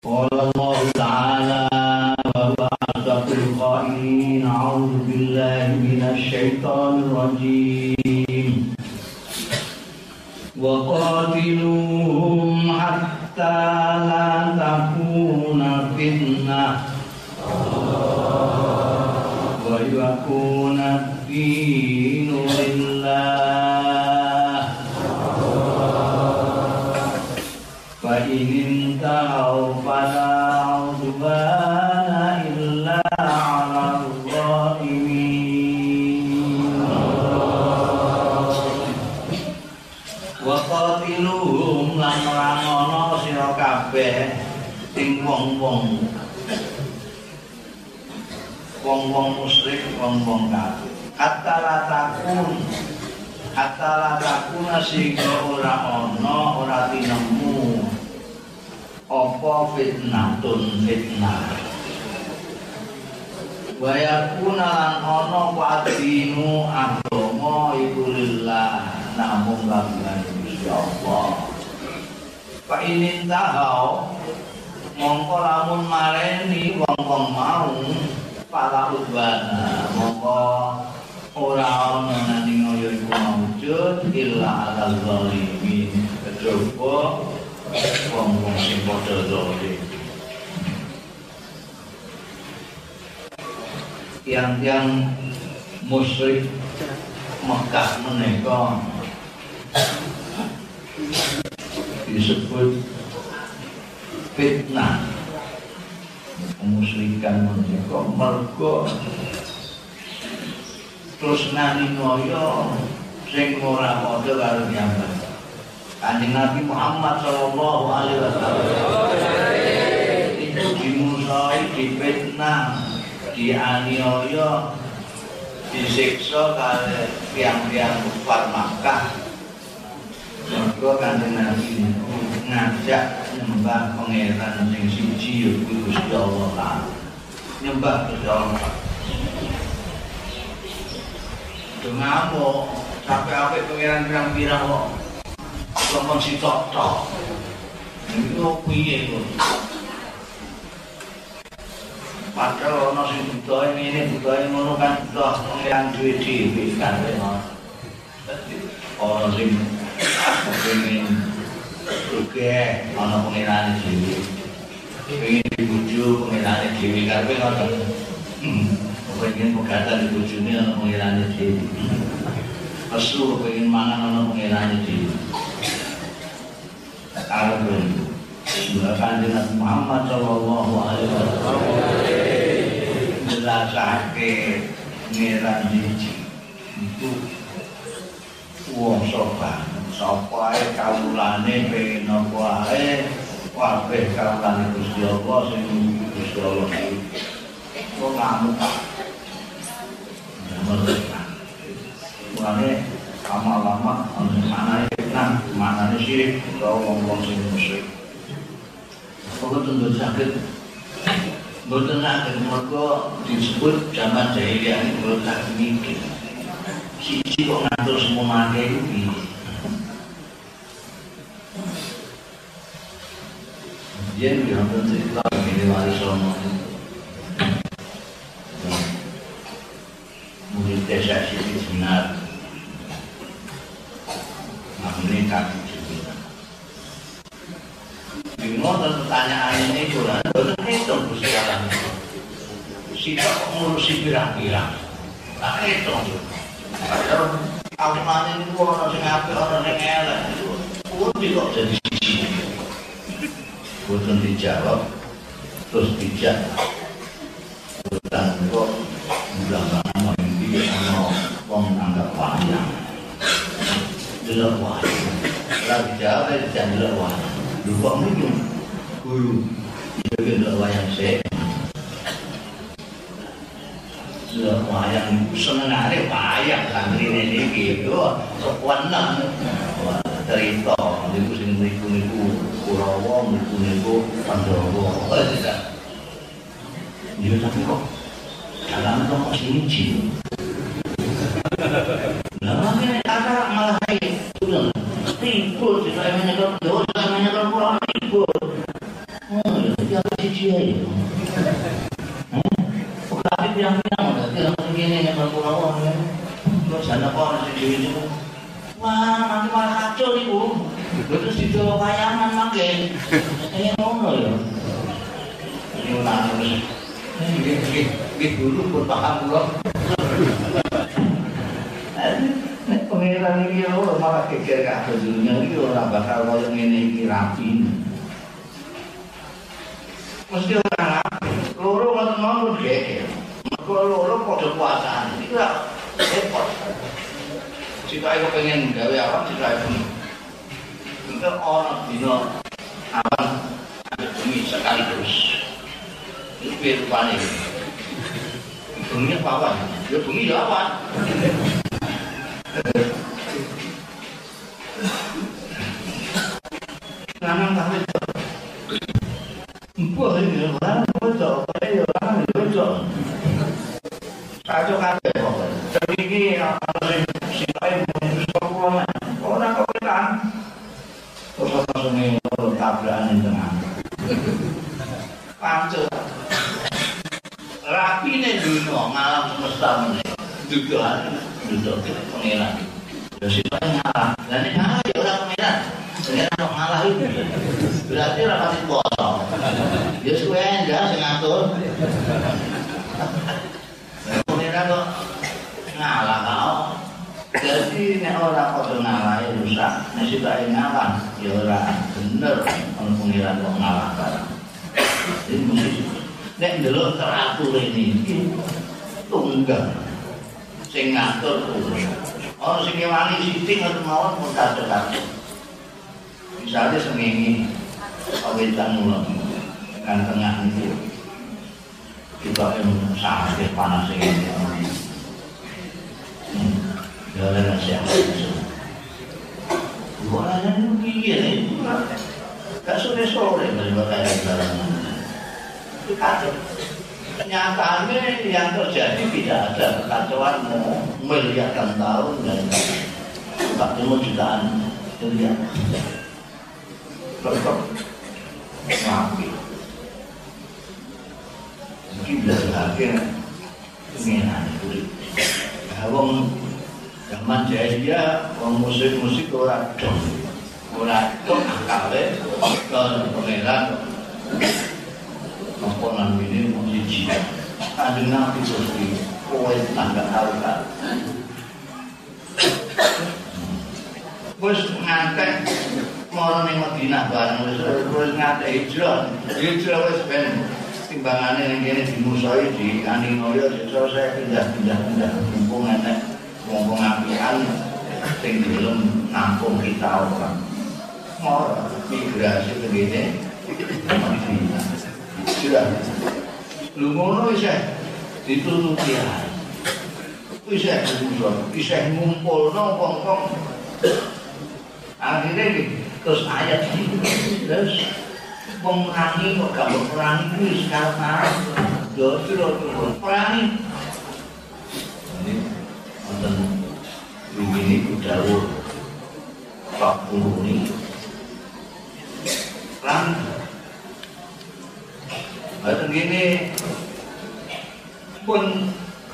Qala Allah Ta'ala wa huwa asdaqul qailin a'udzu billahi minasy syaithanir rajim wa qatiluhum hatta la takuna fitnah wa yakuna ad-dinu lillah fa in tahu fala udwana illa 'alal zalimin wa qatiluhum lan rangono sira kabeh ing wong-wong musyrik, wong-wong kafir. Hatta la takuna sehingga ora ana, ora tinemu apa fitnah. Wa yakuna lan ana wadinu agama iku lillah namung kanggo Gusti Allah. Fa inin tahau mongko lamun mareni wong-wong mau para udwana mongko ora ana nang ngoyo iku maujud illa alal zalimin kejaba wong-wong sing padha zalim. Tiang-tiang musyrik Mekah menika disebut fitnah. Kemusyrikan menika mergo terus nani ngoyo sing ora padha karo piyambak. Kanjeng Nabi Muhammad sallallahu alaihi wasallam itu dimusai, difitnah, dianiaya, disiksa kali tiang-tiang kufar Makkah. Mergo Kanjeng Nabi ngajak nyembah pangeran sing siji yaiku Gusti Allah Ta'ala. Nyembah Gusti Allah. Dengamu sampai apik pangeran pirang-pirang kok ngomong si tok-tok. Iku piye kok? Padahal ana sing butuhe ngene, butuhe ngono kan butuh pangeran duwe dhewe kan. Ana sing pengen oke, ana pengenane dhewe. Pengen dibujuk pengenane dhewe karepe ngoten. Pengen pegatan dibujune ana pengenane dhewe. Asu pengen mangan ana pengenane dhewe. Arep Kanjeng Nabi Muhammad sallallahu alaihi wasallam jelasake ngeran siji itu wong sopan. Sapa ae kawulane pengen apa ae kabeh kawulane Gusti Allah sing Gusti Allah iki kok ngamuk mulane lama-lama mana fitnah mana syirik utawa wong-wong sing musyrik kok tentu sakit mboten saged mergo disebut zaman jahiliyah iki mboten saged mikir siji kok ngatur semua akeh iki. Dia nonton cerita ini wali songo murid desa sini benar menikah juga bingung pertanyaan ini kurang hitung sekarang siapa ngurusi pirang-pirang tak hitung padahal awalnya itu orang yang ngapain orang yang elek pun tidak jadi sisi boten dijawab terus dijak boten kok mudah-mudahan mimpi ana wong anggap wayang delok wayang lagi jawab dijak delok wayang lho kok ngono guru iki delok wayang sik delok wayang senengane wayang santrine niki yo weneng cerita niku sing niku Kurawa niku Pandhawa. Iya tapi kok dalam kok siji. Lah ngene ada malah timbul di saya menyebut dosa menyebut Quran timbul. Oh, ya tapi cici. Tapi bilang-bilang udah gini nih kalau ya. Terus ada orang sendiri itu. Wah, nanti malah kacau nih bu. Terus dijual kayangan makin. Ini ngono ya. Ini ulang terus. Ini dulu pun paham belum. Pengiran ini malah kekir kabeh dunia iki ora bakal koyo ngene iki rapi. Mesti ora loro ngono geger. Mergo loro padha puasane. Iki ora repot. Jika aku pengen gawe apa jika aku itu orang dino awan ada bumi sekaligus. Itu biar rupanya. Bumi apa awan? Ya bumi ya awan. Nanang tak betul. Buat ini orang betul, orang betul. Kacau kabeh kok. Tapi ini harus sipai sekolah. Orang kebetulan. Terus ini tabrakan di tengah. Pancet. Rapi nih dunia ngalam semesta ini. Duduk pengiran. Ya sipai ngalah. Dan ini ngalah ya orang pengiran. Pengiran kok ngalah itu. Berarti rapat itu kosong. Ya suwe enggak sing ngatur. Pengiran kok ngalah kau. Jadi nek ora padha ngalah rusak, nek sipai ngalah ya ora bener ono pengiran kok ngalah barang. Jadi mesti nek ndelok teratur ini tunggal sing ngatur ono sing ngewangi sithik ngoten mawon pun kadang-kadang. Misalnya seminggu awetan mulai kan tengah itu kita yang sakit panas ini jalan siapa itu orangnya itu begini gak sore-sore daripada jalan itu kacau. Kenyataannya yang terjadi tidak ada kekacauan miliaran tahun dan tak cuma jutaan miliar tetap rapi. Mungkin belajar pengenan itu. Wong zaman jaya, wong musik orang dong akale ke pengenan. Komponan ini mesti jiwa. Kanjeng Nabi seperti kowe tangga harga. Wis ngantek mau ning Madinah bareng wis ngantek hijrah. Hijrah wis ben timbangane ning kene dimusoi di Aningoyo saya pindah. Mumpung enek wong apian sing gelem nampung kita orang. Mau migrasi ke kene. Sudah, lu ngono isih ditutupi ae. Isih ngumpulno wong-wong. Akhirnya terus ayat ini terus pemerangi kok gak perangi kuwi sekarang terus perangi. Ini wonten begini dawuh Pak Guru ini. Bahkan gini pun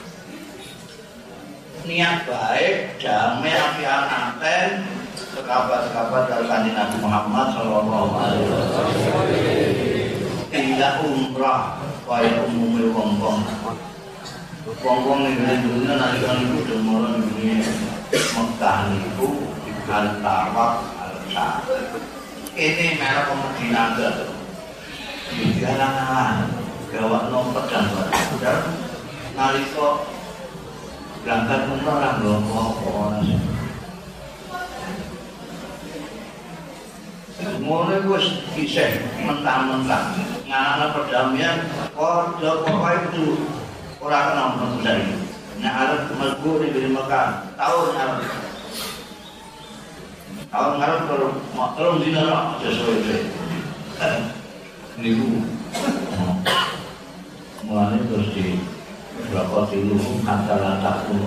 niat baik, damai, apian aten, sekabat-sekabat dari kanjeng Nabi Muhammad Sallallahu Alaihi Wasallam. Tidak umrah, kaya umumnya wong-wong. Wong-wong ini dulunya nalikan itu demoran ini Mekah itu al-tawaf al-sa'ad. Ini merek Medina enggak. Jalan-jalan gawak nomor dan udah nalika berangkat umrah lho apa ngono wis isih mentang-mentang ngalana perdamaian pokoke itu ora kena menunggu. Nek arep mlebu ning Mekah tahun ngarep kalau dina aja suwe niku mulane terus di berapa dulu antara takun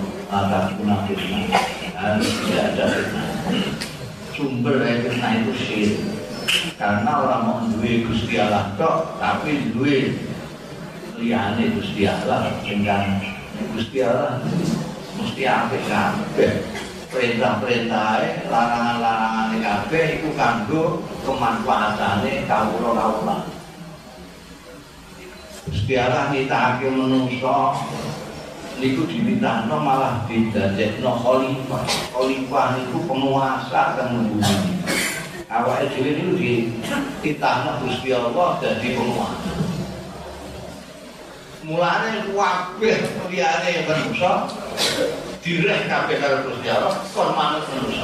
tidak ada fitnah. Sumber dari fitnah itu syirik. Karena orang mau duwe Gusti Allah tok, tapi duwe liyane Gusti Allah dengan Gusti Allah mesti apik kabeh. Perintah-perintahé, larangan-larangane kabeh iku kanggo kemanfaatane kawula-kawula. Gusti Allah nitahake menungso niku dimintakno malah didadekno khalifah. Khalifah niku penguasa kang bumi. Awake dhewe niku dititahno Gusti Allah dadi penguasa. Mulane kabeh liyane menungso direh kabeh karo Gusti Allah kon manut menungso.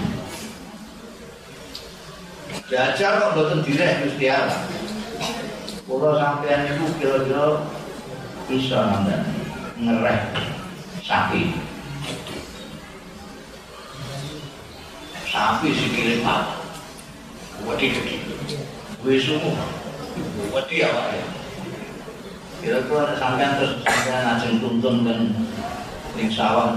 Jajar kok boten direh Gusti Allah. Kula sampeyan niku kira-kira bisa nandhani ngereh sapi. Sapi sikile patah. Wedi-wedi. Wis sumu. Wedi awake. Kira-kira sampeyan terus sampeyan ajeng tuntun kan ning sawah.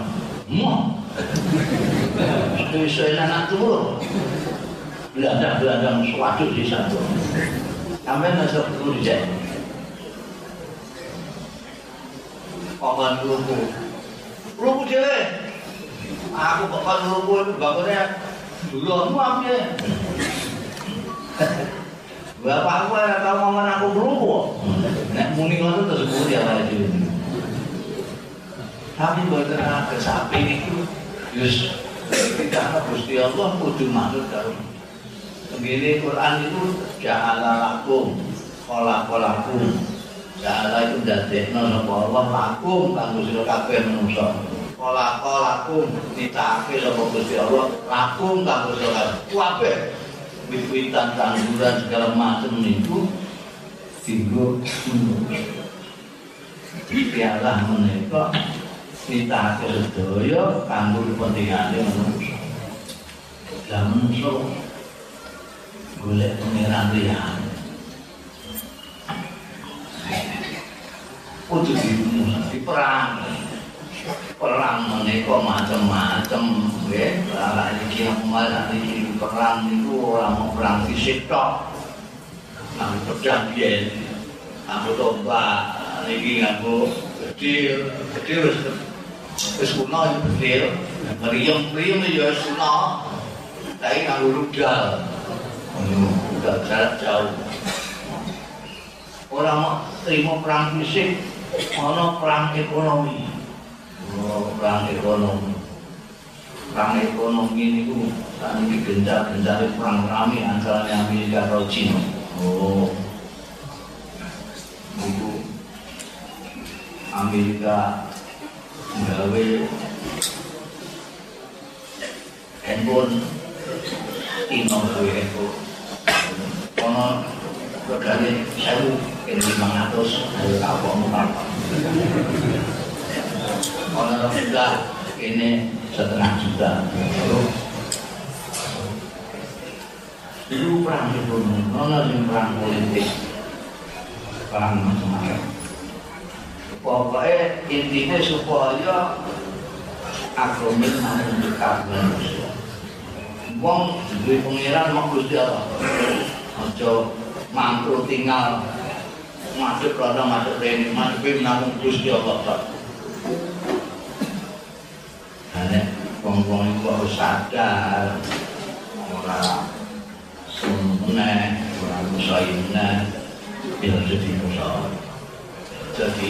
Iso anak turun. Beladang suatu di sana. Sampeyan masuk dulu dijak. Paman lugu dhewe. Aku paman lugu bapaknya dulurmu apa? Bapakku ora tau ngomong aku lugu. Nek muni ngono terus buri awake dhewe. Tapi boten ada sapi niku wis tidak Gusti Allah kudu manut karo. Ngene Quran itu ja'ala lakum khalaqalakum. Ja'ala itu dadekno sapa Allah lakum kanggo sira kabeh manungsa. Khalaqalakum ditake sapa Gusti Allah lakum kanggo sira kabeh. Wit-witan tanduran segala macam niku dienggo pialah menika ditake sedaya kanggo kepentingane manungsa. Lah manungsa golek pangeran liyane. Kudu diperang. Perang menika macam-macam nggih. Lah iki malah iki perang niku ora mau perang fisik tok. Nang pedang yen. Aku tombak niki nganggo bedil wis kuno bedil. Mriyem ya wis kuno. Tapi nganggo rudal. Udah jarak jauh. Orang mau terima perang fisik, ono perang ekonomi. Perang ekonomi. Perang ekonomi ini saat ini gencar-gencar perang rame antara Amerika dan Cina. Itu Amerika gawe handphone Tino gawe handphone. Ono regane 1.500 ayo kapok apa. Ono sudah ini 1,5 juta. Itu perang ekonomi, ono sing perang politik. Perang macam-macam. Pokoknya intinya supaya agama makin dekat dengan manusia. Wong duwe pangeran mok Gusti Allah. Aja mangkel tinggal madhep rono madhep rene madhep namung Gusti Allah tok. Nek wong-wong iku harus sadar ora semeneh ora musaina bila jadi musuh. Jadi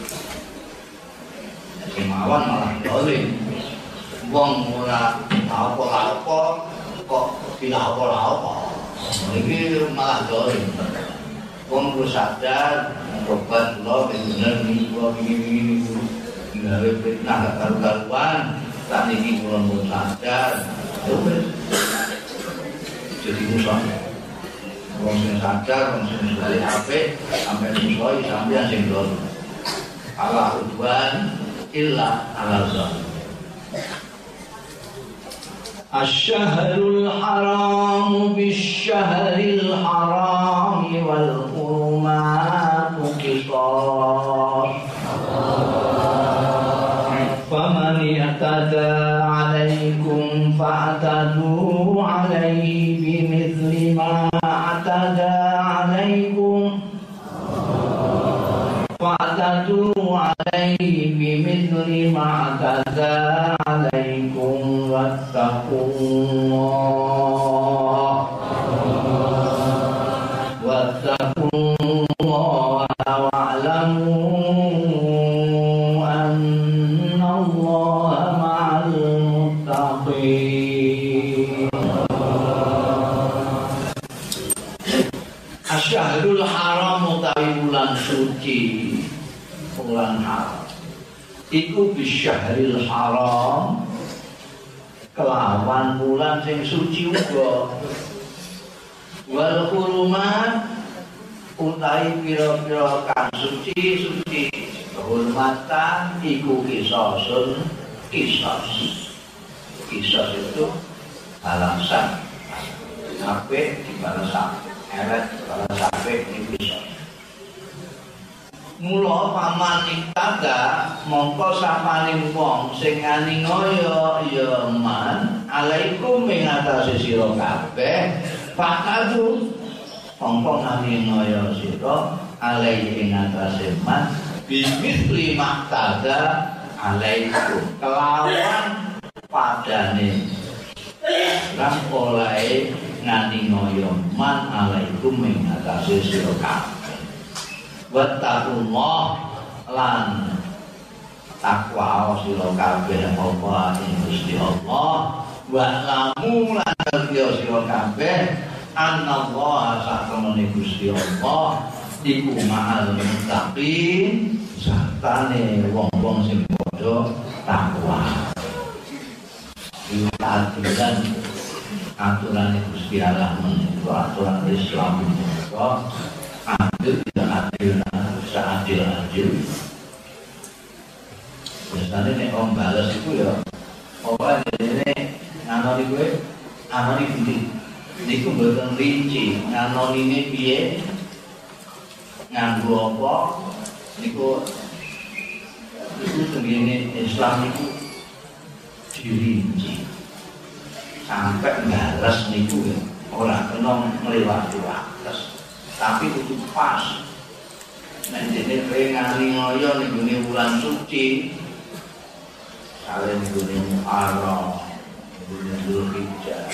kemauan malah dolim. Wong ora apa-apa kok tidak apa-apa. Ini malah dolim. Wong kudu sadar, obat kula bener niki kula begini gawe fitnah gak karu-karuan. Saat ini kula mun sadar, jadi musuh. Wong sing sadar, wong sing bali apik, sampai musuh sampeyan sing dolim. Allah udwan illa ala zalim. الشهر الحرام بالشهر الحرام والحرمات قصاص فمن اعتدى عليكم فاعتدوا عليه بمثل ما fa'tadu alaihi bimithli ma'tada alaikum wattaqullaha wa'lamu annallaha ma'al muttaqin. Asyahrul haram utawi bulan suci, bulan haram iku bisyahril haram kelawan bulan sing suci uga. Wal hurumat utawi pira-pira kang suci kehormatan iku kisosun. Kisos itu balasan apik dibalas elek dibalas apik iki kisos. Mula paman iktada mongko sapaning wong sing ngani ngoyo ya man alaikum ing atase sira kabeh fakadu mongko ngani ngoyo sira alaihi ing atase man bimisli maktada alaikum kelawan padane lan oleh ngani ngoyo man alaikum ing atase sira kabeh. Wattaqullah lan takwa sira kabeh apa ing Gusti Allah wa lamu lan sira kabeh annallaha satamene Gusti Allah iku ma'al muttaqin sartane wong-wong sing padha takwa. Aturan aturan Gusti Allah menika aturan Islam menika adil tidak adil, seadil-adil. Biasanya nek om balas itu ya, apa ini nganoni gue, nganoni budi. Niku mboten rinci, nganoni ini piye, nganggo apa, niku begini Islam itu dirinci sampai balas niku ya, orang kena melewati batas. Tapi itu pas. Nek dene kowe ngani ngoyo ning gone wulan suci. Kale ning gone Muharram, gone Dzulhijjah.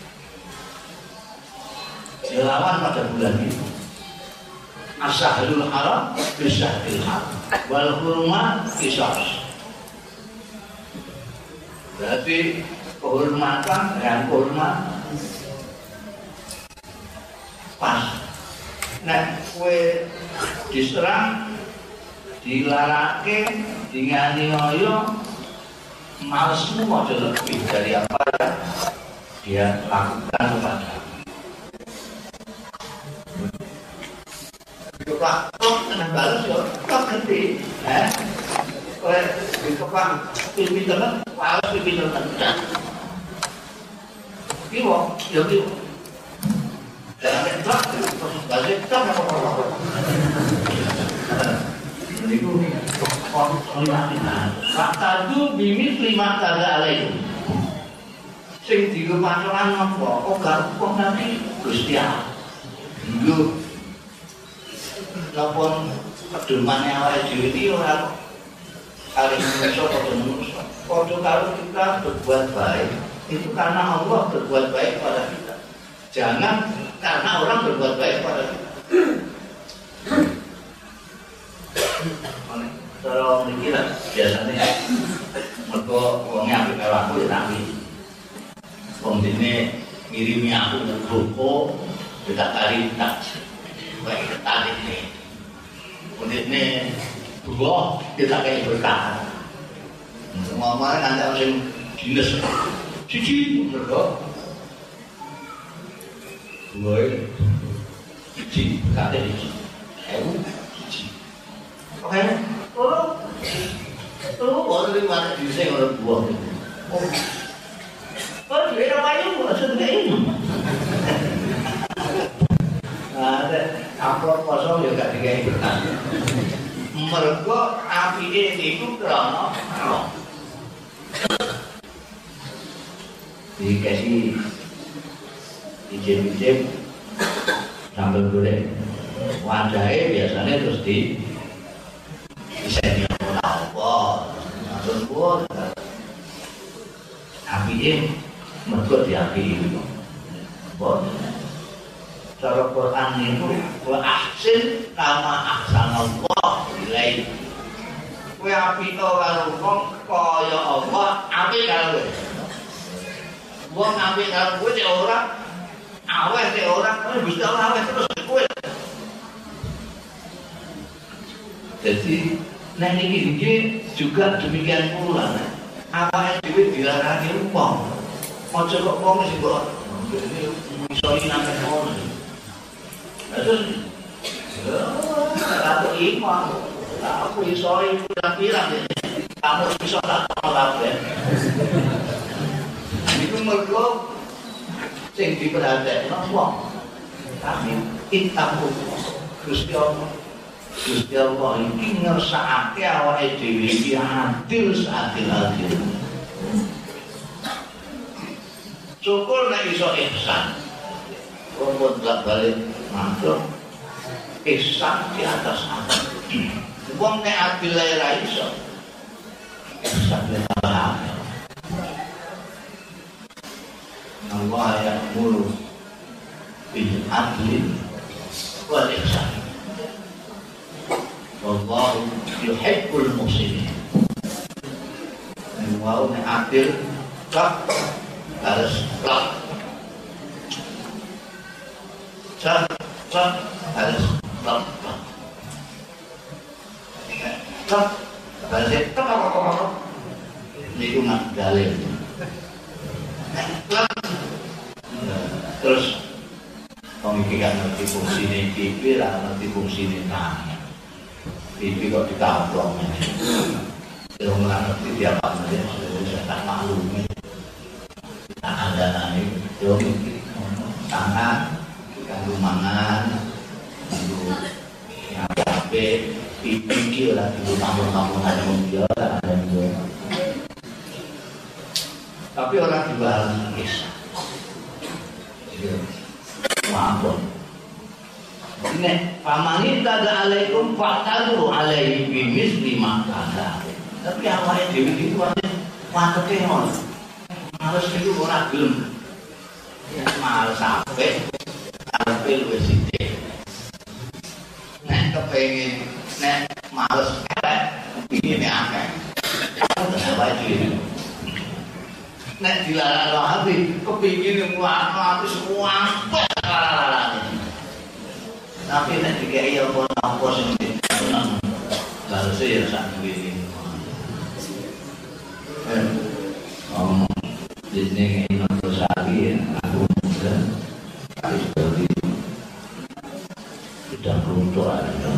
Dilawan pada bulan itu. Asyahrul haram bisyahril haram. Wal hurmat qisas. Berarti kehormatan dan hormat pas. Nek kowe diserang, dilarake, dingani ngoyo, malesmu aja lebih dari apa yang dia lakukan kepada. Kok kena balas yo, kok gede, kowe dikepak pipi tenan, balas pipi tenan. Iki wong, yo iki. Jangan tak, balik tak apa-apa. Jadi ku, Faktadu bimisli maktada alaikum. Sing dilupakan apa? Oh garuk nanti Gusti Allah. Dulu, nopon pedomannya awal dhewe iki ora kali manusia pada manusia. Kalau kita berbuat baik, itu karena Allah berbuat baik pada kita. Jangan karena orang berbuat baik pada kita. Kalau mikir biasanya mereka uangnya ambil mewahku ya nabi. Wong dene ngirimi aku buku kita tarik tak baik tarik nih. Dene dua kita kayak berkah. Ngomong nanti harus dinas cici mereka. Gue cici kata cici. Cici. Oke. Oh, dari mana bisa orang buang? Oh, dia namanya bukan sedih. Ada amplop kosong juga dikai berkah. Mereka api ini itu kerana dikasih ijem-ijem sambil goreng. Wadahnya biasanya terus di ini apa? Maksud pun api mergo diapi itu. Cara Quran itu wa ahsin kama ahsanallah ilaik. Kowe api to karo wong kaya Allah api karo kowe. Wong api karo kowe cek ora aweh cek ora kowe Gusti Allah aweh terus kowe. Jadi nek niki juga demikian pula. Awake dhewe dilarani wong. Aja kok wong sing kok iso iki nang ngono. Terus aku iman. Aku iso iki pirang-pirang kamu iso tak kabeh. Iku mergo sing diperhatekno wong. Tapi kita Gusti Allah. Gusti Allah iki ngersakake awake dhewe iki adil seadil-adil. Syukur nek iso ihsan. Wong gak balik matur ihsan di atas adil. Wong nek adil ora iso. Ihsan le tambah. Allah ya'muru bil adli wal ihsan. Wallahu yuhibbul muhsinin. Mau nek adil tak harus tak harus tak harus tak itu nggak dalil terus pemikiran ngerti fungsi ini pipi lah ngerti fungsi ini tangan pipi kok ditaplong ya nggak ngerti tiap apa sudah tak maklumi tak ada nanti tangan kanggo mangan kanggo ngapain pipi lah kanggo tampung-tampungan dia tak ada juga tapi orang dibahas kisah maafkan ini pamani tada alaikum fa'tadu alaihi bimisli makada tapi awalnya dewi itu ada mateke ngono males itu ora gelem males sampai luwih sithik nek kepengin nek males elek kepingine akeh awake dhewe nek dilarang hati kepingine ngono ati semua tapi nek dikai apa sing seneng harus ya sak duwe di sini ingin bersari aku muda harus berdiri sudah runtuh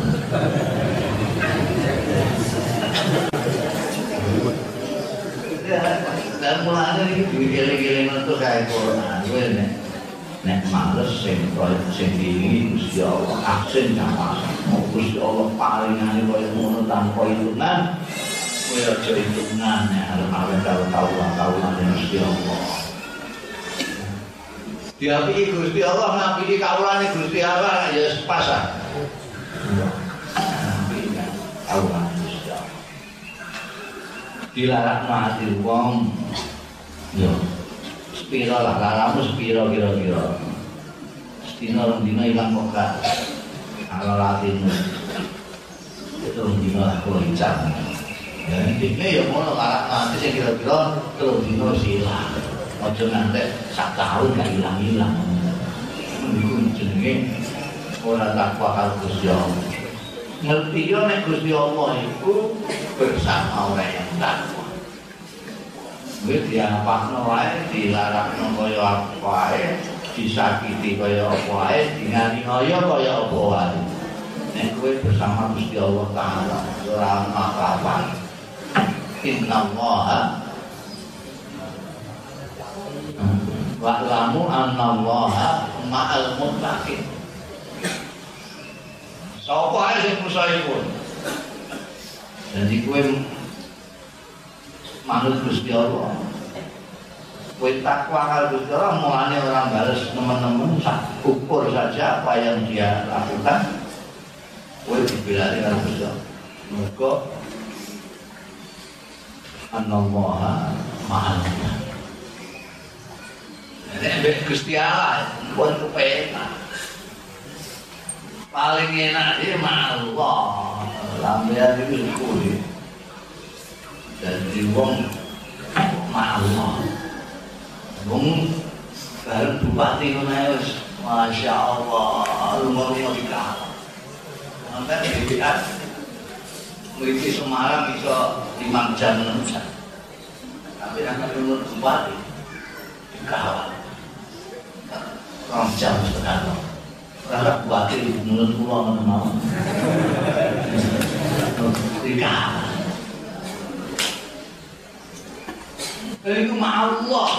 dan mulanya ini gile-gile untuk kayak corona nek males sing tinggi Gusti Allah aksen sama Gusti Allah palingane koyo ngono tanpa hitungan kowe aja hitungan nek arep tahu-tahuan Gusti Allah. Diapiki Gusti Allah ngapiki kawulane Gusti Allah ya sepasang. Kawulane Gusti Allah. Dilarang mati wong yo sepiro lah laramu sepiro kira-kira. Sedina dina ilang kok ala latinu. Itu dina lah kok icap. Ya, ini ya mau larat nanti saya kira-kira terus dino silang aja nanti sak tahun gak hilang-hilang itu jenenge orang takwa karo Gusti Allah ngerti ya nek Gusti Allah itu bersama orang yang takwa wis diapakno wae dilarakno kaya apa wae disakiti kaya apa wae dinganiaya kaya apa wae nek kowe bersama Gusti Allah taala ora apa-apa innallaha wa'lamu annallaha ma'al muttaqin. Sapa ae sing musaipun. Jadi kowe manut Gusti Allah. Kowe takwa karo Gusti Allah mulane orang bales teman-teman ukur saja apa yang dia lakukan. Kowe dibelani karo Gusti Allah. Mergo Anallaha ma'al muttaqin. Nek Gusti Allah pun kepenak. Paling enak dia ma'allah. Lambean itu kuwi. Dadi wong ma'allah. Wong bareng bupati ngono wis masyaallah lumur-lumur dikalah. Sampai dilihat mriki Semarang iso 5 jam 6 jam. Tapi nek lumur bupati dikalah. 2 jam setengah. Ora bupati menurut kula ngono mawon. Dikalah. Itu ma'allah.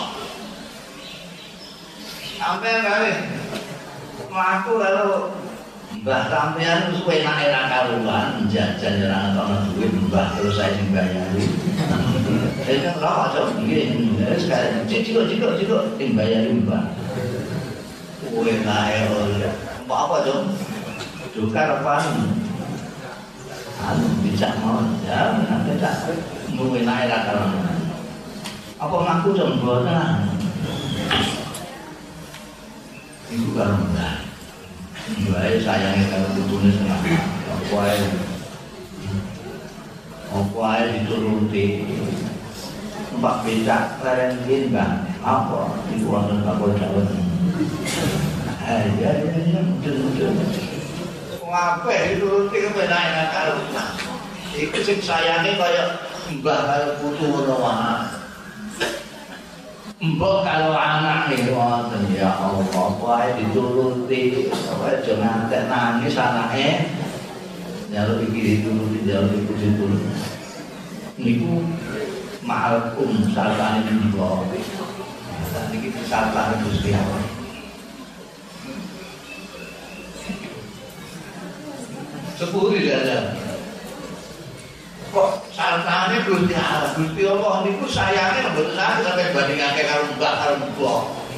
Sampai kali mlaku lalu mbah sampean suwe enake ra karuan jajan ora ana duit mbah terus saya sing bayari. Saya kan ora aja nggih sekarang cicil sing bayari mbah. Kowe nae ora. Apa dong? Tukar apa? Anu bijak mau ya nanti tak muwe nae ra karuan. Apa ngaku jam 2 tengah? Iku karo mbah. Mbah sayange karo putune seneng. Apa ae dituruti. Mbak becak rengin mbah. Apa iku wonten apa dawuh. Ya betul. Ngape dituruti kepenak karo mbah. Iku sing sayange kaya mbah karo putu ngono wae. Mbok kalau anak nih wonten ya Allah wae dituruti wae aja ngantek nangis anake njaluk iki dituruti njaluk iku dituruti niku ma'alkum salane niku niki salane Gusti Allah sepuri dadan kok salane Gusti Allah Gusti Allah niku sayange mboten sampe bandingake karo mbak karo mbok.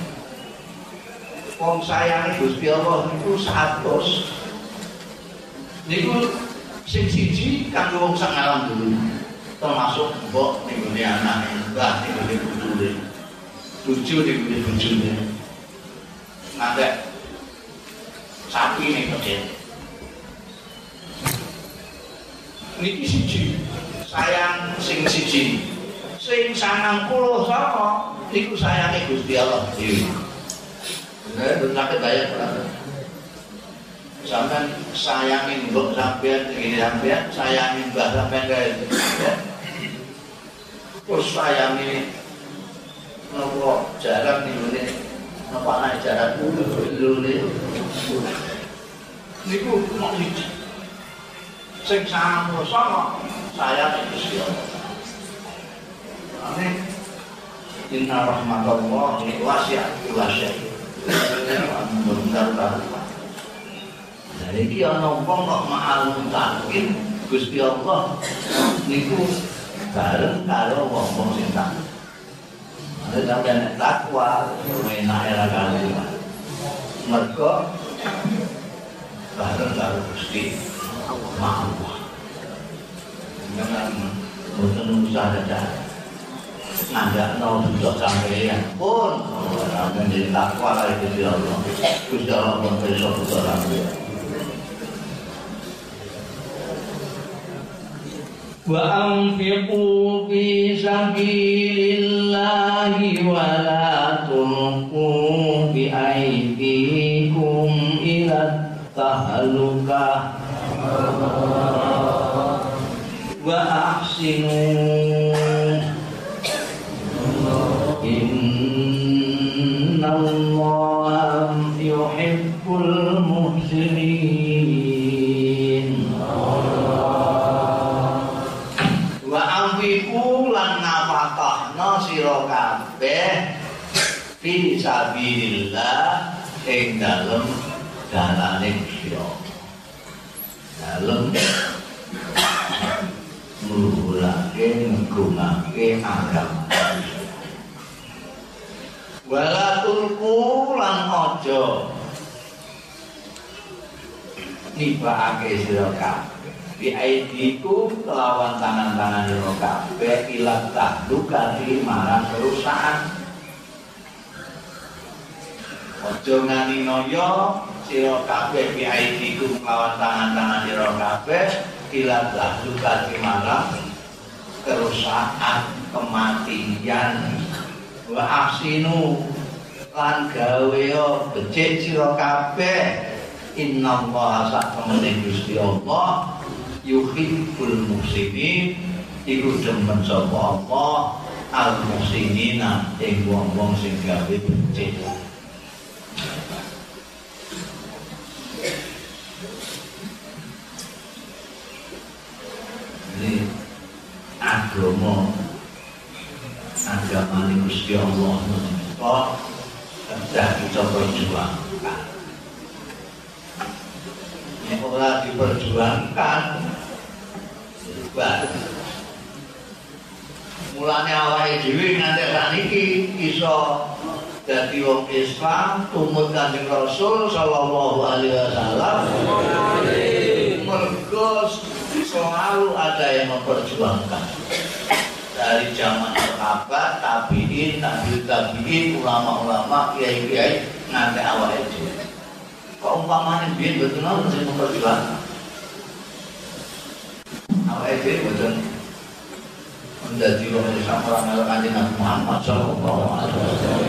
Wong sayange Gusti Allah niku 100. Niku sing siji kanggo wong sak alam dulu. Termasuk mbok niku anake mbah niku bojone. Bojo niku bojone. Ngantek sapi niku niki siji sayang sing siji sing 90 sapa niku sayange Gusti Allah dhewe. Nek sakit bayar berapa? Sampeyan sayangi mbok sampeyan iki sampeyan sayangi mbah sampeyan kae. Terus sayangi nopo jarak niku napa ana jarak dulu niku mok siji sing sama saya Gusti Allah. Amin. Inna rahmatallahi wasi'at wasyai. Jadi iki ana wong kok ma'al muttaqin Gusti Allah niku bareng karo wong sing takwa. Ada sampeyan takwa menake ra kali. Mergo bareng karo Gusti Allah. Jangan boten usah ada. Nggak mau duduk sampeyan pun sampeyan jadi takwa kali Gusti Allah. Gusti Allah pun besok duduk sampeyan. Wa anfiqu fi sabilillahi wa la tulqu bi aydikum ila tahlukah wa ahsinu innallaha yuhibbul muhsinin. Wa anfiqu lan nafaqahna sira kabeh fi sabilillah ing dalem dalane Gusti Allah. Dalem mluhurake nggunakake agama. Wala tulku lan aja nibakake sira kabeh biaidiku kelawan tangan-tangan ira kabeh ilat tahduka marang kerusakan. Aja ngani noyo sira kabeh biaidiku kelawan tangan-tangan ira kabeh ilat tahduka marang kerusakan, kematian. Wa ahsinu lan gawe becik sira kabeh. Innallaha sak-temene Gusti Allah yuhibbul muhsinin iku demen sapa Allah al muhsinina ing wong-wong sing gawe becik. Ini agama Gusti Allah kok sudah kita perjuangkan. Nek ora diperjuangkan mulane awake dhewe nganti saniki iso dadi wong Islam tumut Kanjeng Rasul sallallahu alaihi wasallam. Mergo selalu ada yang memperjuangkan dari zaman sahabat, tabi'in, tabi'in, ulama-ulama, kiai-kiai nganti awake dhewe. Kok umpamane biyen betul sing memperjuangkan. Awake dhewe boten menjadi wong Islam ora melok Kanjeng Nabi Muhammad sallallahu alaihi wasallam.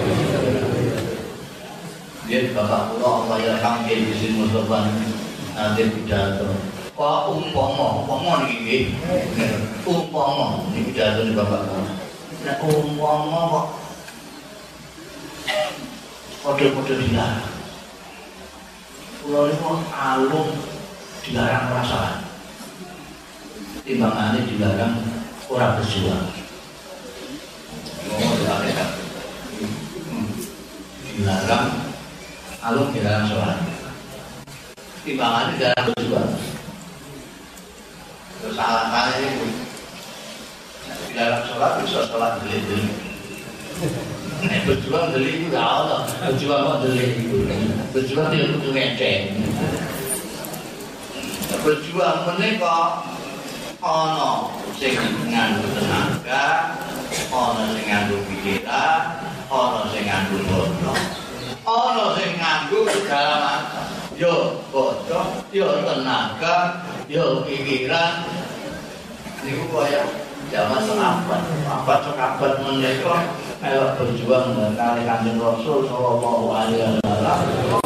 Dia bapak kula Allah yarham di sini Mustafa nanti pidato. Kok umpama niki umpama niki pidato di bapak kula. Nek umpama kok kode-kode dilarang. Kula niku alung dilarang perasaan. Timbangane dilarang ora berjuang. Ngomong dilarang. Dilarang alung dilarang sholat. Timbangane dilarang berjuang. Terus alasannya itu dilarang sholat bisa sholat beli-beli. Berjuang beli itu gak ada. Berjuang kok beli itu. Berjuang dia kudu ngeceng. Berjuang menika ana sing nganggo tenaga, ana sing nganggo pikiran, ana sing nganggo bodoh, ana sing nganggo segala macam. Yo bodoh, yo tenaga, yo pikiran. Niku kaya zaman sahabat menika melok berjuang kali Kanjeng Rasul sallallahu alaihi wasallam.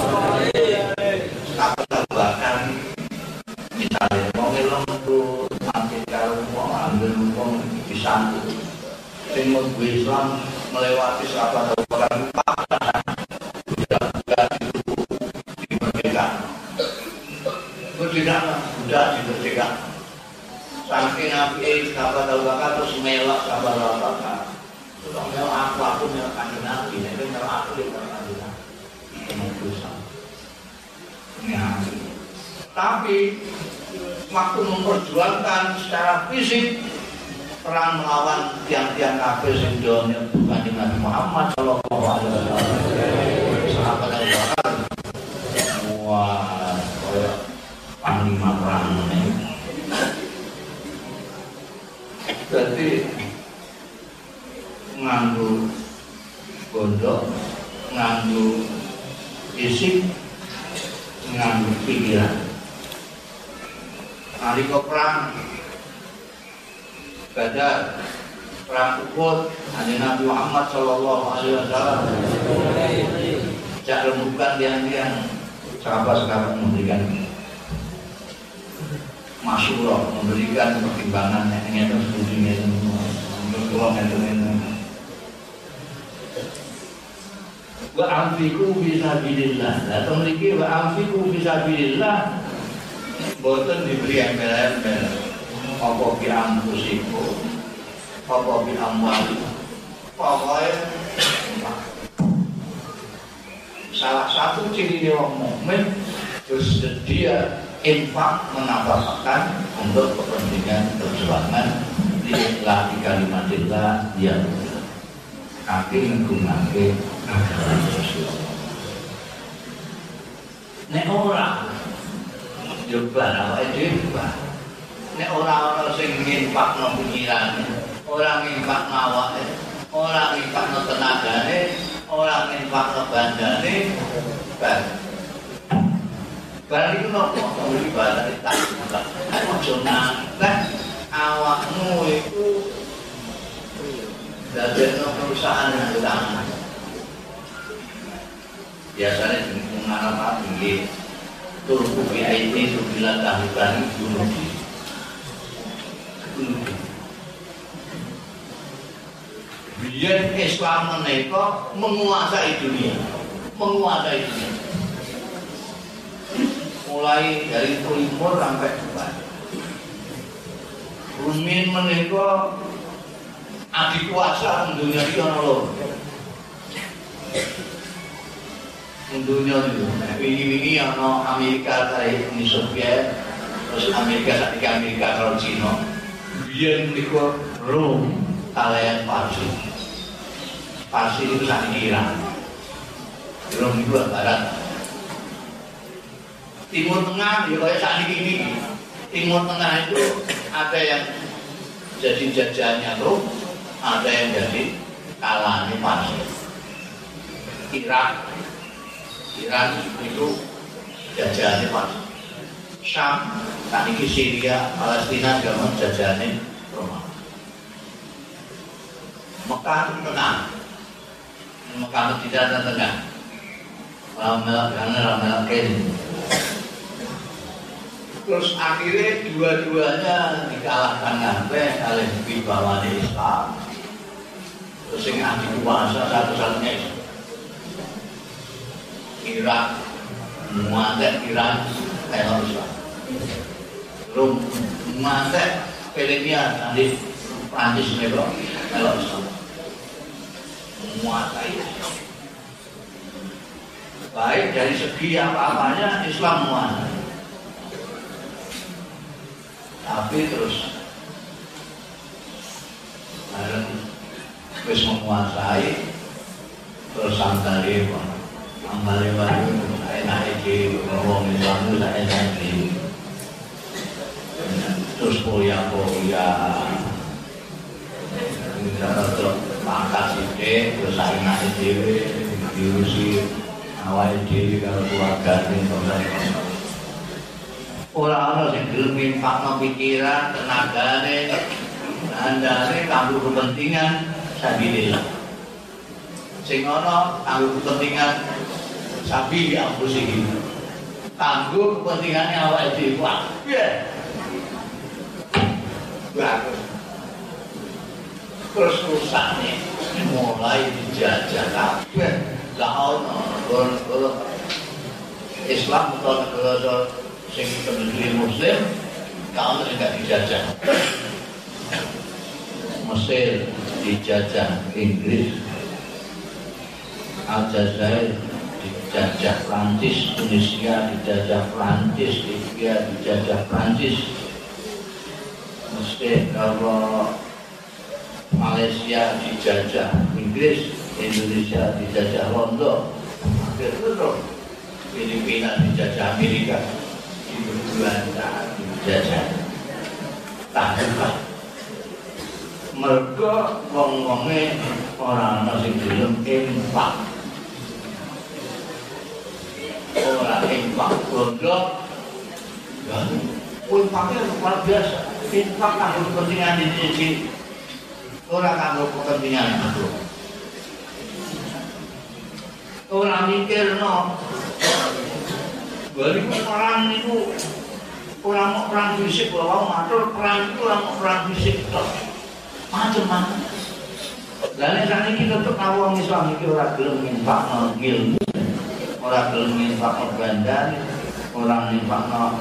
Bahkan misalnya wong lembut mati karo wong ambil wong disambut sing mlebu Islam melewati sahabat orang paksa budak dimerdekakan. Budak dimerdekakan. Saking Nabi sahabat Abu Bakar terus melok sahabat Abu Bakar. Terus melok aku melok Kanjeng Nabi, nek melok aku melok Kanjeng Nabi. Ini dosa. Tapi waktu memperjuangkan secara fisik perang melawan tiang-tiang kafir sing donya Kanjeng Nabi Muhammad sallallahu alaihi wasallam. Sahabat Abu Bakar wah koyo panglima perang ini. Jadi nganggo gondok, nganggo fisik, nganggo pikiran. Nalika perang Badar, perang Uhud, Nabi Muhammad sallallahu alaihi wasallam jak rembukan tiang-tiang sahabat-sahabat memberikan masyurah, memberikan pertimbangan yang terus setujunya semua untuk ngomong wa anfiqu fisabilillah. Lah mriki wa anfiqu fisabilillah boten diberi embel-embel apa bi ampusiku apa bi amwali. Pokoke salah satu ciri orang mukmin bersedia infak menafkahkan untuk kepentingan perjuangan lillahi kalimatillah yang kaki nggunakake agama Rasulullah. Nek ora coba awake dhewe nek ora sing nginfakno pikiran, ora nginfakno awake, ora nginfakno tenagane, ora nginfakno bandane, barang itu nopo ibadah tak buka. Ojo nanteh awakmu iku dadekno perusahaan yang utama. Biasanya di mengarap tinggi turku PIT itu bilang tahlilan bunuh diri. Biar Islam menika menguasai dunia, mulai dari timur sampai depan. Rumin menika adik kuasa dunia iki ana lho. Dunia itu, ini ana Amerika kali Uni Soviet, terus Amerika saiki Amerika karo Cina. Biyen niku Rom kalian Parsi itu saiki Iran. Rom itu barat. Timur Tengah ya kayak saat ini. Timur Tengah itu ada yang jadi jajahannya Rom, ada yang jadi kalahnya Parsi. Iran itu jajahannya Parsi. Syam, saat ini Syria, Palestina juga jajahannya Roma. Mekah tengah, Mekah Medina tengah. Ramelak terus akhirnya dua-duanya dikalahkan oleh wibawa Islam. Terus yang anti kuasa satu-satunya Irak, muatek Iran, Islam. Rum, muatek Filipina, nanti Prancis mereka, Islam. Muatek Islam. Baik dari segi apa-apanya Islam menguasai. Tapi terus wis menguasai terus santare ambale wae enak iki wong Islam itu enak iki. Terus poya-poya terus pangkat sithik terus enak dhewe diurusi awake dhewe karo keluargane ora ana sing gelem nyimpan pikiran, tenagane, andane kanggo kepentingan sabilillah. Sing ana kanggo kepentingan sabi ampusihi. Kanggo kepentingane awake dhewe. Wah, piye? Bagus. Terus rusakne mulai dijajah kabeh. Lah ono Islam utawa sing penduduk Muslim kalau tidak dijajah. Mesir dijajah Inggris, Aljazair dijajah Prancis, Tunisia dijajah Prancis, Libya dijajah Prancis, Mesir kalau Malaysia dijajah Inggris, Indonesia dijajah Londo, akhirnya Filipina dijajah Amerika. Belanda dijajah tahulah mergo wong-wonge ora ana sing gelem infak bondo infaknya luar biasa infak kanggo kepentingan diri ora kanggo kepentingan aku ora mikirno balik perang itu orang mau perang fisik, kalau matur perang itu orang mau perang fisik macam-macam. Dan saat ini kita untuk awam Islam itu orang gelem nyimpak ilmu, orang gelem nyimpak bandan, orang nyimpak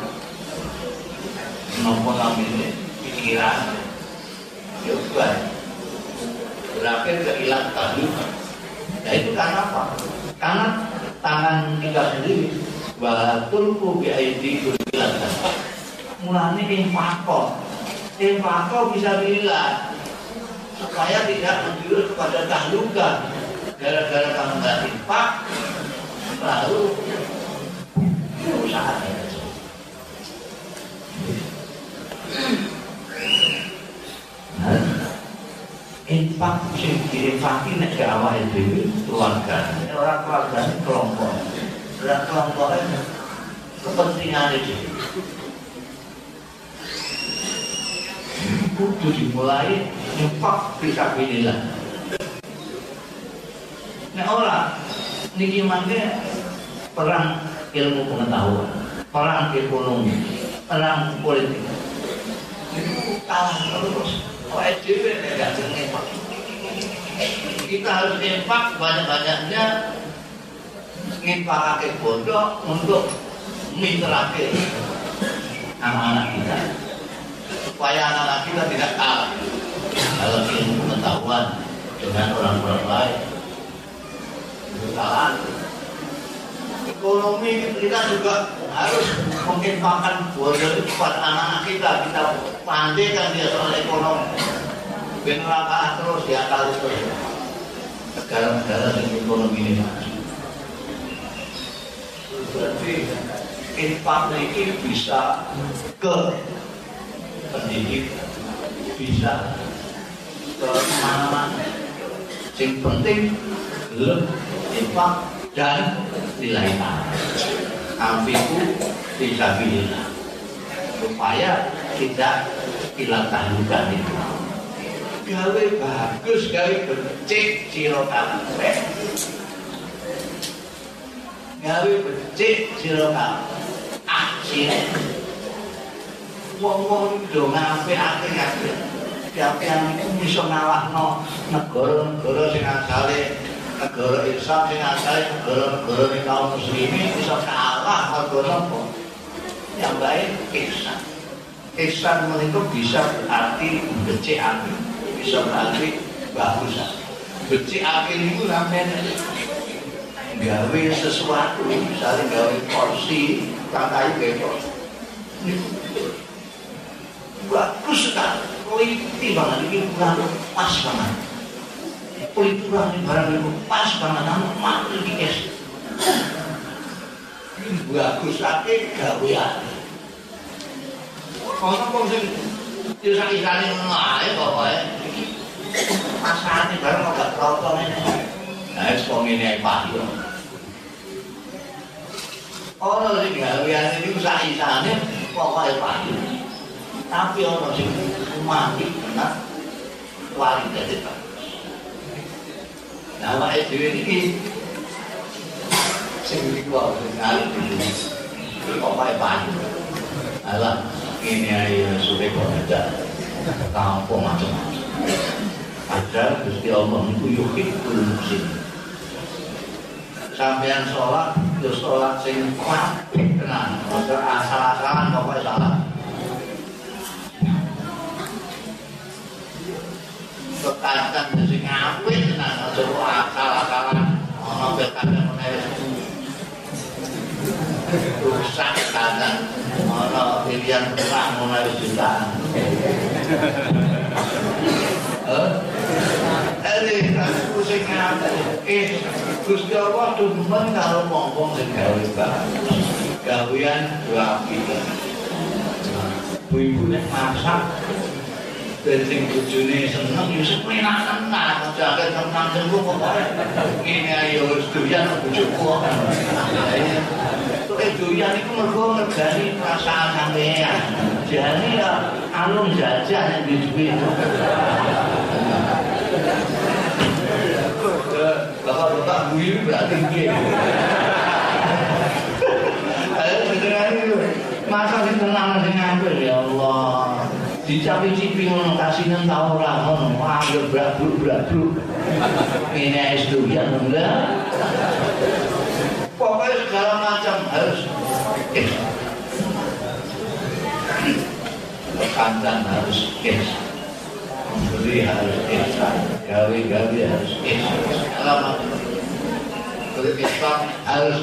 nopo namanya pikiran, juga berakhir kehilangan tadi. Nah itu karena apa? Karena tangan kita sendiri. Batul biaidi kulilan mulane infako bisa bilang supaya tidak menjurus kepada tahluka gara-gara kamu nggak infak lalu usaha Infak sing diinfaki nek gak awake dhewe keluarga, ora keluargane kelompok. Ora kelompoknya kepentingane dhewe. Kudu dimulai infak fisabilillah. Nek ora niki mangke perang ilmu pengetahuan, perang ekonomi, perang politik. Kalah terus. Kita harus infak banyak-banyaknya, infakake bodoh untuk mitrake anak-anak kita, supaya anak-anak kita tidak kalah dalam ilmu pengetahuan dengan orang-orang lain. Kalah. Ekonomi kita juga harus menginfakkan bodoh itu kepada anak-anak kita. Kita pandaikan dia soal ekonomi. Benar terus ya kali terus. Negara-negara yang ekonomi ini maju. Berarti infak ini bisa ke pendidikan, bisa ke mana-mana. Yang penting belum infak dan nilai amfiku fisabilillah, supaya tidak hilang tahlukan itu. Gawe bagus, gawe becik sira kabeh. Gawe becik sira kabeh. Akhire wong-wong do ngapik-apik kabeh. Yang itu bisa ngalahno negara-negara sing asale negara Islam sing asale negara-negara kaum muslimin bisa kalah mergo napa? Yang baik ihsan. Ihsan menika bisa berarti becik apik, bisa berarti bagus. Becik apik niku sampeyan gawe sesuatu, misalnya gawe porsi, katai bebas. Bagus sekali, politik banget, ini kurang pas banget. Politik kurang ini barang itu pas banget, namun mati di es. Bagus sekali, gawean. Kalau kau sih, kisah-kisahnya mengalir pokoknya. Pasangannya barang agak terotong ini. Nah, sekolah pahit. Orang sih gawean ini kisah-kisahnya pokoknya pahit. Tapi orang sing mati kena wali dari bagus. Nah, wae dhewe iki sing dikuwat sekali dulu. Kok wae banyu. Alah, ini ae sudah kok ada. Kampung macam-macam. Ada Gusti Allah itu yuhibbul muslim. Sampeyan sholat, yo sholat sing apik tenan. Ora asal-asalan pokoke salah. Kekatan sing apik tenan aja akal-akalan ana bekane menawa rusak kekatan ana pilihan perang menawa jutaan aku sing apik Gusti Allah demen karo wong-wong sing gawe bagus gawean apik ibu nek masak sing bojone seneng yo sepenakan nah jaga tenang sembuh pokoke ngene ayo wis doyan bojoku kok doyan iku mergo ngergani perasaan sampean jane ya alung jajah nek duwe bapak guyu berarti piye ayo sedengan itu masa sing tenang sing apik ya Allah dicapi-cipi ngono kasinen ta ora ngono anggere brabruk ini es doyan enggak pokoknya segala macam harus kandan harus beli harus gawe harus segala macam Islam harus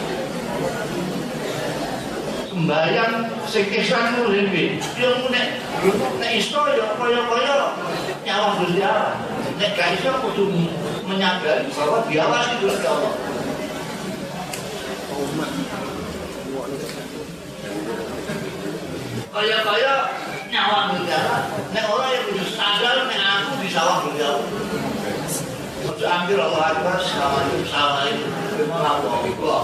sembahyang sing ihsan ku lho yo nek iso yo kaya-kaya nyawang Gusti Allah nek gak iso kudu menyadari bahwa diawasi Gusti Allah kaya-kaya Ambil Allah Akbar, Assalamualaikum, Assalamualaikum.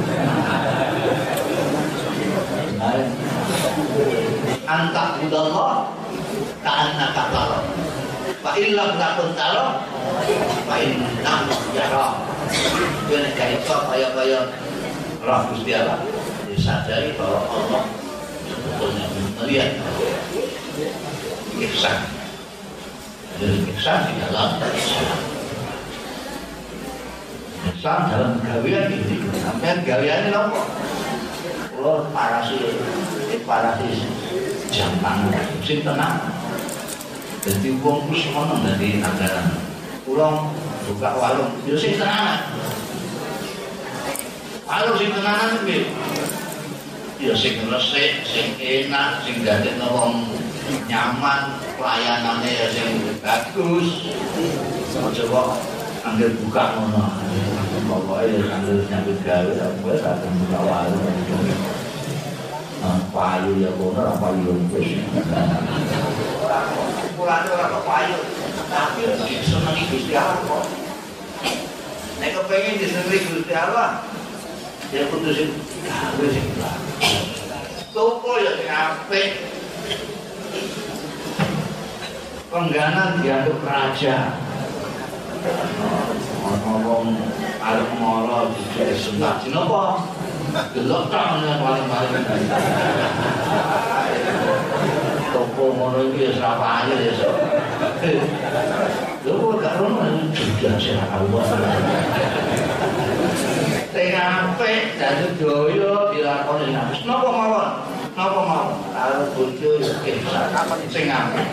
Antak budallah, ta'anna kapal. Pak Ilham takun taro, Pak Ilham jarang. Dia kayak kaya roh Gusti Allah. Disadari bahwa Allah sebetulnya melihat ihsan. Jadi ihsan di dalam Islam. Islam dalam gawean ini, sampai gawean ini apa? Kalau parasis jam tangan, sing tenang. Jadi uang terus menang dari anggaran. Uang buka warung, itu sing tenang. Warung sing tenang itu, ya sing resik, sing enak, sing dadekno wong nyaman, pelayanannya ya sing bagus. Coba ambil buka ngono. Pokoknya ambil nyambut gawe, aku akan buka warung. Payu ya kono, payu wis. Orang payu, tapi disenengi Gusti Allah kok. Nek kepengin disenengi Gusti Allah, ya kudu sing gawe sing bagus. Toko ya sing apik. Pengganan dianggap raja. Ngomong arep mara dijek sunat dinapa? Delok tak paling-paling. Toko ngono iki wis ra payu ya sok. Lho gak ono juga sing Allah. Sing apik dadi daya dilakoni nafsu. Napa mawon? Napa mawon? Karo bojo ya kapan sing apik.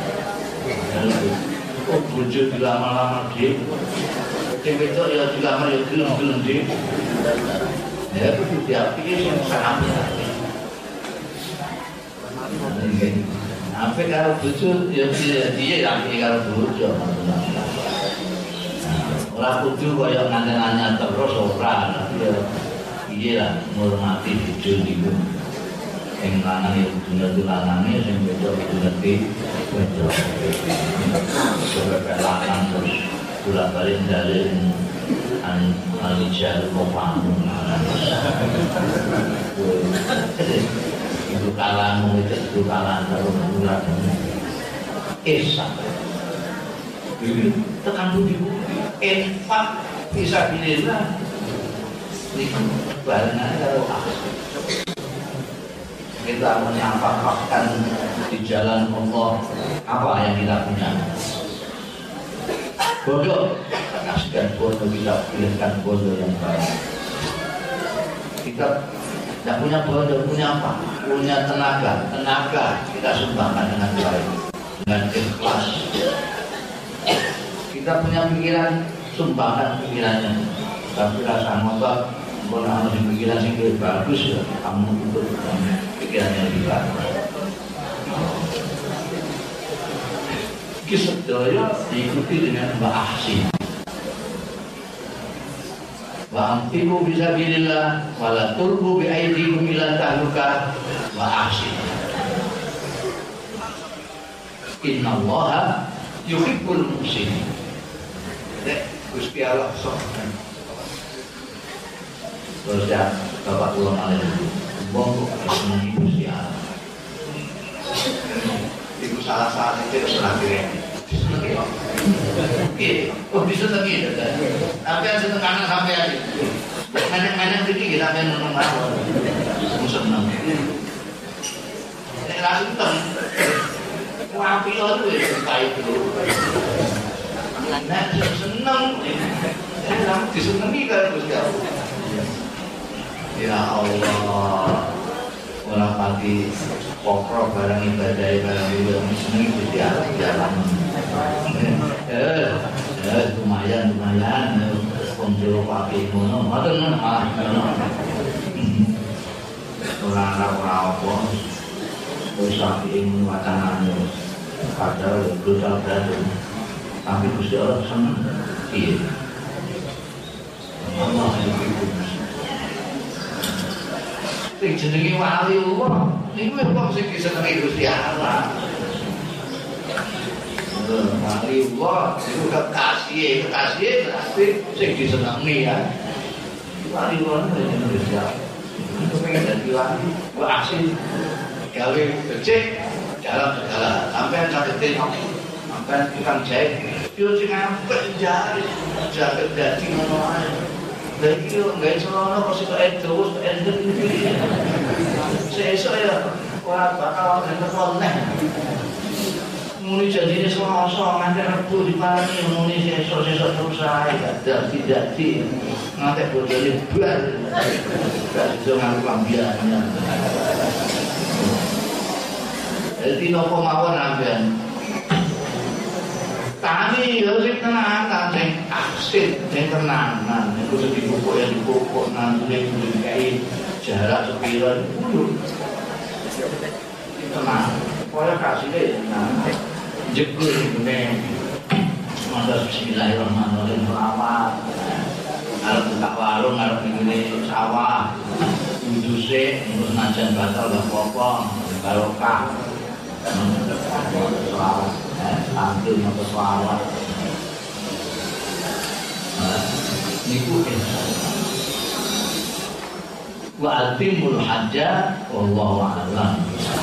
Kok bojo dilama-lama dhewe. Sing wedok ya dilamar ya gelem-gelem dhewe. Ya kudu diapiki sing sampe. Apik karo bojo ya piye apik karo bojo. Ora kudu kaya nganten-anten terus ora, tapi ya piye lah ngurmati bojo niku. Sing lanang ya kudu ngerti lanange, sing wedok kudu ngerti wedok. Sebab lanang terus bolak-balik dalem Al-Rijal Qawwamun 'ala itu kalamu itu kalan karo bulan Esa tekan budi infak fisabilillah niku barengan karo kita menyampaikan di jalan Allah apa yang kita punya. Bodoh, kasihkan bodoh, kita pilihkan bodoh yang baik. Kita tidak punya bodoh, punya apa? Punya tenaga kita sumbangkan dengan baik, dengan ikhlas. Kita punya pikiran, sumbangkan pikirannya. Tapi rasa ngotot, kalau harus pikiran yang lebih bagus, ya, kamu untuk pikirannya lebih bagus. Sedaya diikuti dengan ba'ahsin. Wa'amtiku bisabilillah wala turbu bi'aidikum ila tahluka wa'ahsin. Innallaha yuhibbul muhsinin. Gusti Allah sok. Terus ya Bapak ulang alaihi. Wong kok seneng Gusti Allah. Itu salah itu salah diri. Oh bisa lagi, tapi yang seneng kanan sampai aja. Main-main sedikit sampai nonton mawon. Seneng. Nek langsung ten. Wapi itu kayak itu. Nek seneng, seneng disenengi kan Gusti Allah. Ya Allah. Orang pati pokro barang ibadah barang itu seneng Gusti Allah jalan. Lumayan konjol pakai ngono ngoten malah ora apa wis sapi ngono wacanane padahal dosa berat tapi Gusti Allah seneng piye Allah itu sing jenenge wali Allah niku wong sing disenengi Gusti Allah waliullah itu kekasih berarti sing disenengi ya. Waliullah itu Indonesia. Itu pengen jadi wali, gua asli gawe becik dalam segala. Sampai sakitin, sampai tukang jahit, yo sing apik jahit, jaket dadi ngono ae. Lah iki yo gawe celana kok sik terus endek iki. Sesuk ya ora bakal ngentek. Muni jadine selasa nganti Rebo diparani muni sesuk terus ae gak dadi nganti bojone bar gak iso ngaku lambiannya. Jadi nopo mawon ambean tani yo sing tenanan sing asik sing tenanan iku sing dipupuk ya dipupuk nandune dikai jarak sepiro kudu tenang kaya kasine nang jebul ngene matur bismillahirrahmanirrahim selawat arep buka warung arep ngene sawah uduse terus najan batal gak apa-apa barokah selawat ambil matur selawat niku wa atimul hajjah wallahu a'lam.